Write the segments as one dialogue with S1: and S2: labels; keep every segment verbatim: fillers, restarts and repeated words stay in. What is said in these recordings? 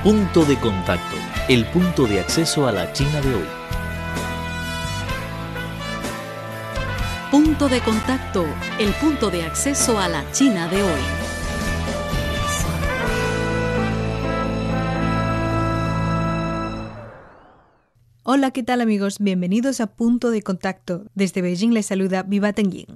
S1: Punto de contacto, el punto de acceso a la China de hoy.
S2: Punto de contacto, el punto de acceso a la China de hoy.
S3: Hola, ¿qué tal amigos? Bienvenidos a Punto de Contacto. Desde Beijing les saluda Viva Tengying.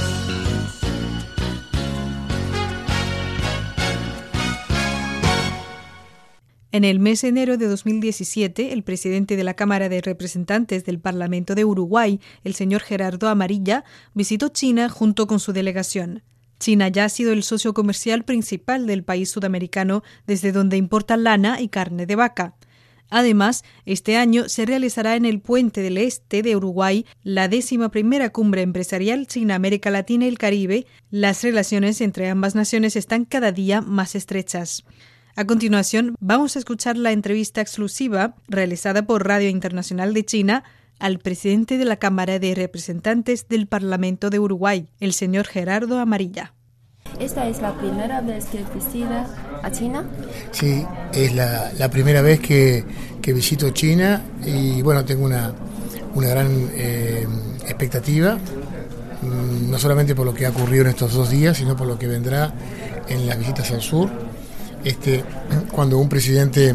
S3: En el mes de enero de dos mil diecisiete, el presidente de la Cámara de Representantes del Parlamento de Uruguay, el señor Gerardo Amarilla, visitó China junto con su delegación. China ya ha sido el socio comercial principal del país sudamericano, desde donde importa lana y carne de vaca. Además, este año se realizará en el Puente del Este de Uruguay la décima primera cumbre empresarial China-América Latina y el Caribe. Las relaciones entre ambas naciones están cada día más estrechas. A continuación, vamos a escuchar la entrevista exclusiva realizada por Radio Internacional de China al presidente de la Cámara de Representantes del Parlamento de Uruguay, el señor Gerardo Amarilla.
S4: ¿Esta es la primera vez que visita a China?
S5: Sí, es la, la primera vez que, que visito China y bueno, tengo una, una gran eh, expectativa, no solamente por lo que ha ocurrido en estos dos días, sino por lo que vendrá en las visitas al sur. Este, cuando un presidente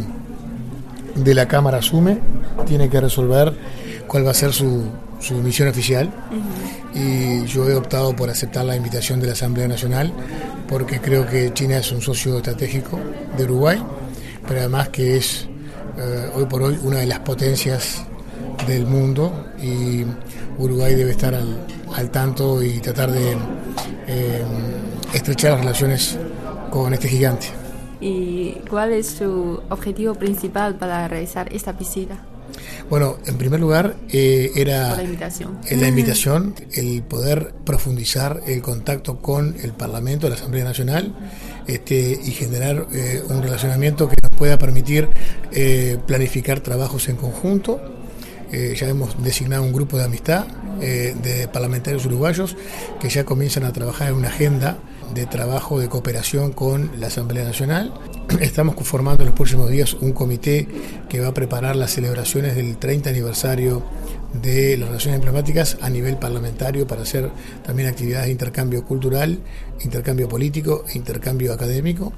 S5: de la Cámara asume, tiene que resolver cuál va a ser su, su misión oficial. Uh-huh. Y yo he optado por aceptar la invitación de la Asamblea Nacional porque creo que China es un socio estratégico de Uruguay, pero además que es eh, hoy por hoy una de las potencias del mundo y Uruguay debe estar al, al tanto y tratar de eh, estrechar las relaciones con este gigante.
S4: ¿Y cuál es su objetivo principal para realizar esta visita?
S5: Bueno, en primer lugar eh, era
S4: Por la invitación.
S5: En la invitación el poder profundizar el contacto con el Parlamento, la Asamblea Nacional, este, y generar eh, un relacionamiento que nos pueda permitir eh, planificar trabajos en conjunto. Eh, ya hemos designado un grupo de amistad eh, de parlamentarios uruguayos que ya comienzan a trabajar en una agenda de trabajo de cooperación con la Asamblea Nacional. Estamos conformando en los próximos días un comité que va a preparar las celebraciones del treinta aniversario de las relaciones diplomáticas a nivel parlamentario para hacer también actividades de intercambio cultural, intercambio político e intercambio académico.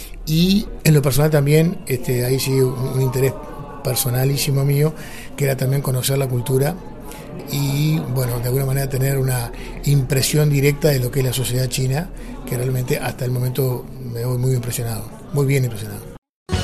S5: Y en lo personal también, este, ahí sí un, un interés personalísimo mío, que era también conocer la cultura y, bueno, de alguna manera tener una impresión directa de lo que es la sociedad china, que realmente hasta el momento me voy muy impresionado, muy bien impresionado.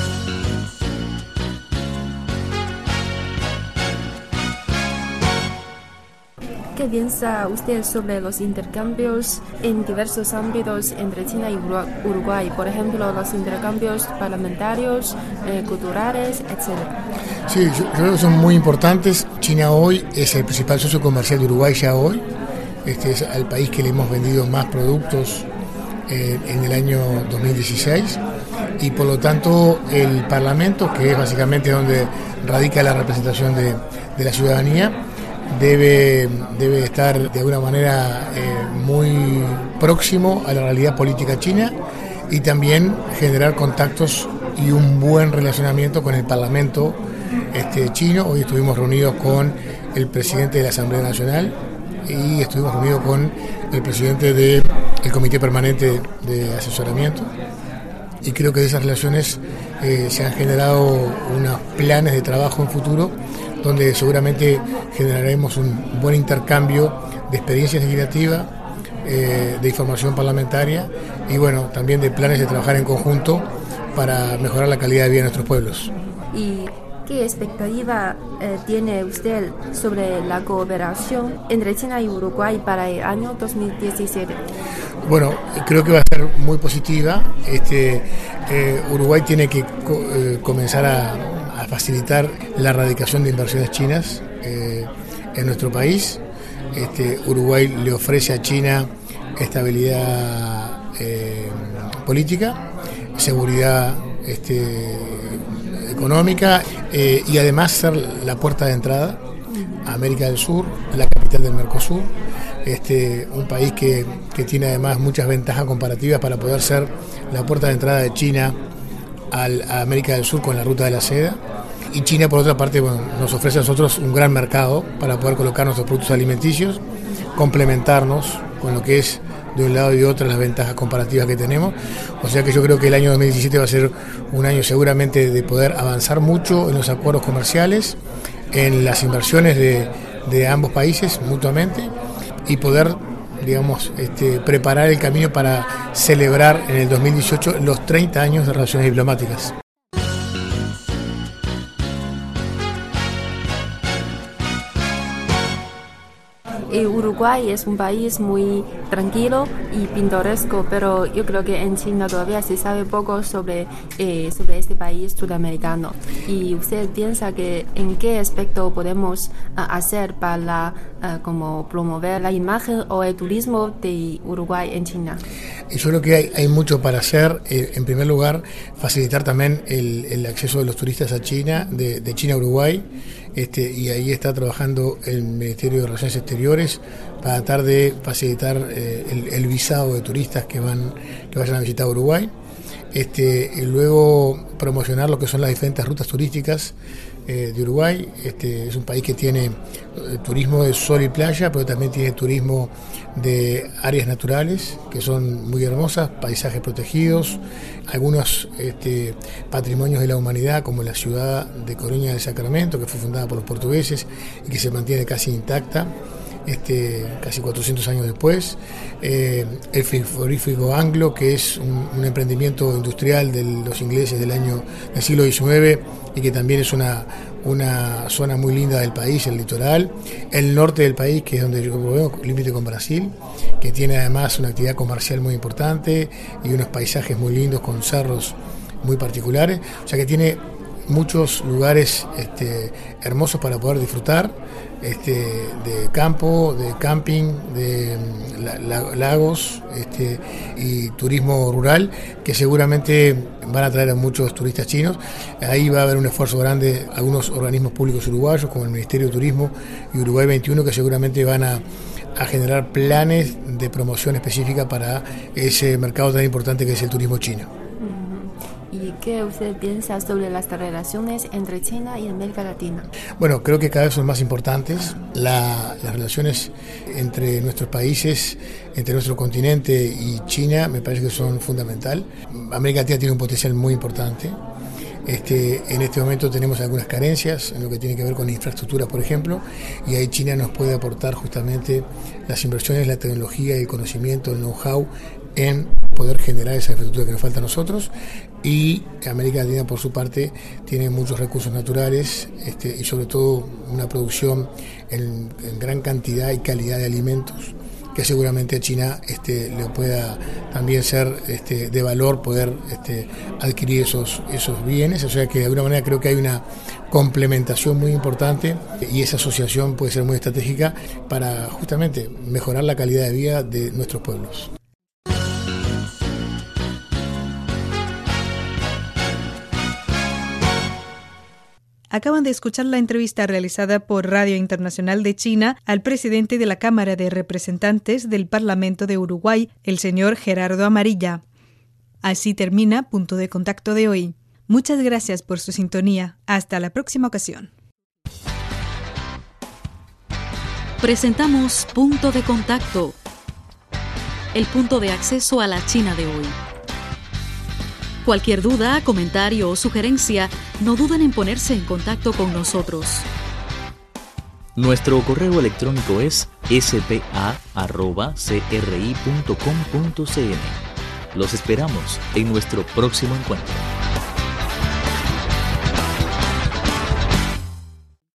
S4: ¿Qué piensa usted sobre los intercambios en diversos ámbitos entre China y Uruguay? Por ejemplo, los intercambios parlamentarios, eh, culturales, etcétera.
S5: Sí, yo, yo creo que son muy importantes. China hoy es el principal socio comercial de Uruguay ya hoy. Este es el país que le hemos vendido más productos eh, en el año dos mil dieciséis. Y por lo tanto el Parlamento, que es básicamente donde radica la representación de, de la ciudadanía, Debe, debe estar de alguna manera eh, muy próximo a la realidad política china y también generar contactos y un buen relacionamiento con el Parlamento este, chino. Hoy estuvimos reunidos con el presidente de la Asamblea Nacional y estuvimos reunidos con el presidente del Comité Permanente de Asesoramiento. Y creo que de esas relaciones eh, se han generado unos planes de trabajo en futuro donde seguramente generaremos un buen intercambio de experiencias legislativas, eh, de información parlamentaria y bueno, también de planes de trabajar en conjunto para mejorar la calidad de vida de nuestros pueblos.
S4: ¿Y qué expectativa eh, tiene usted sobre la cooperación entre China y Uruguay para el año dos mil diecisiete?
S5: Bueno, creo que va a ser muy positiva. Este, eh, Uruguay tiene que co- eh, comenzar a a facilitar la erradicación de inversiones chinas eh, en nuestro país. Este, Uruguay le ofrece a China estabilidad eh, política, seguridad este, económica eh, y además ser la puerta de entrada a América del Sur, la capital del Mercosur, este, un país que, que tiene además muchas ventajas comparativas para poder ser la puerta de entrada de China al, a América del Sur con la ruta de la seda. Y China, por otra parte, bueno, nos ofrece a nosotros un gran mercado para poder colocar nuestros productos alimenticios, complementarnos con lo que es de un lado y de otro las ventajas comparativas que tenemos. O sea que yo creo que el año dos mil diecisiete va a ser un año seguramente de poder avanzar mucho en los acuerdos comerciales, en las inversiones de, de ambos países mutuamente y poder, digamos, este, preparar el camino para celebrar en el dos mil dieciocho los treinta años de relaciones diplomáticas.
S4: Uruguay es un país muy tranquilo y pintoresco, pero yo creo que en China todavía se sabe poco sobre, eh, sobre este país sudamericano. ¿Y usted piensa que en qué aspecto podemos uh, hacer para uh, como promover la imagen o el turismo de Uruguay en China?
S5: Yo creo que hay, hay mucho para hacer. Eh, en primer lugar, facilitar también el, el acceso de los turistas a China, de, de China a Uruguay. Este, y ahí está trabajando el Ministerio de Relaciones Exteriores para tratar de facilitar eh, el, el visado de turistas que van que vayan a visitar Uruguay. Este, y luego promocionar lo que son las diferentes rutas turísticas eh, de Uruguay. Este, es un país que tiene eh, turismo de sol y playa, pero también tiene turismo de áreas naturales que son muy hermosas, paisajes protegidos, algunos este, patrimonios de la humanidad, como la ciudad de Coruña del Sacramento, que fue fundada por los portugueses y que se mantiene casi intacta. Este, casi cuatrocientos años después, eh, el frigorífico Anglo, que es un, un emprendimiento industrial de los ingleses del año del siglo diecinueve y que también es una, una zona muy linda del país, el litoral, el norte del país, que es donde yo veo límite con Brasil, que tiene además una actividad comercial muy importante y unos paisajes muy lindos con cerros muy particulares, o sea que tiene muchos lugares este, hermosos para poder disfrutar, este, de campo, de camping, de la, la, lagos este, y turismo rural, que seguramente van a traer a muchos turistas chinos. Ahí va a haber un esfuerzo grande, algunos organismos públicos uruguayos, como el Ministerio de Turismo y Uruguay veintiuno, que seguramente van a, a generar planes de promoción específica para ese mercado tan importante que es el turismo chino.
S4: ¿Y qué usted piensa sobre las relaciones entre China y América Latina?
S5: Bueno, creo que cada vez son más importantes. La, las relaciones entre nuestros países, entre nuestro continente y China, me parece que son fundamental. América Latina tiene un potencial muy importante. Este, en este momento tenemos algunas carencias en lo que tiene que ver con infraestructura, por ejemplo, y ahí China nos puede aportar justamente las inversiones, la tecnología, el conocimiento, el know-how en poder generar esa infraestructura que nos falta a nosotros. Y América Latina, por su parte, tiene muchos recursos naturales este, y sobre todo una producción en, en gran cantidad y calidad de alimentos, que seguramente a China este, le pueda también ser este, de valor poder este, adquirir esos, esos bienes. O sea que de alguna manera creo que hay una complementación muy importante y esa asociación puede ser muy estratégica para justamente mejorar la calidad de vida de nuestros pueblos.
S3: Acaban de escuchar la entrevista realizada por Radio Internacional de China al presidente de la Cámara de Representantes del Parlamento de Uruguay, el señor Gerardo Amarilla. Así termina Punto de Contacto de hoy. Muchas gracias por su sintonía. Hasta la próxima ocasión.
S2: Presentamos Punto de Contacto, el punto de acceso a la China de hoy. Cualquier duda, comentario o sugerencia, no duden en ponerse en contacto con nosotros.
S1: Nuestro correo electrónico es s p a arroba c r i punto com punto c n. Los esperamos en nuestro próximo encuentro.